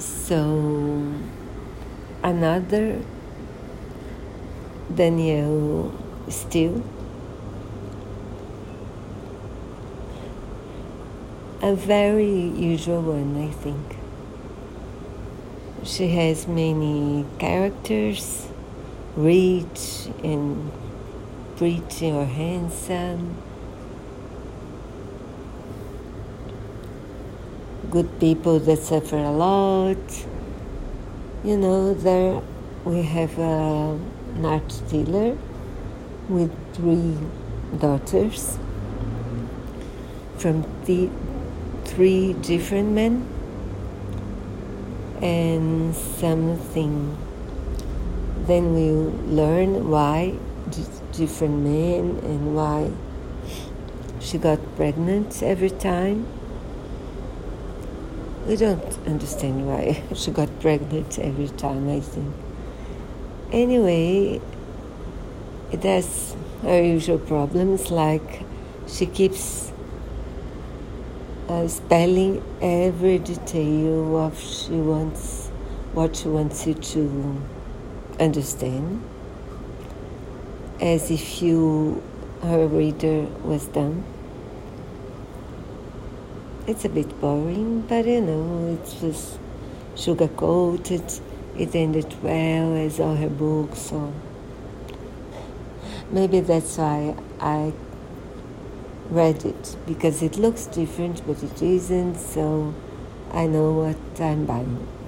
So another Danielle Steele, a very usual one, I think. She has many characters, rich and pretty or handsome, good people that suffer a lot. You know, there we have an art dealer with 3 daughters from the 3 different men, and something. Then we learn why different men and why she got pregnant every time. We don't understand why she got pregnant every time, I think. Anyway, it has her usual problems, like she keeps spelling every detail of what she wants you to understand, as if her reader was dumb. It's a bit boring, but it's just sugar-coated. It ended well, as all her books, so maybe that's why I read it, because it looks different, but it isn't, so I know what I'm buying.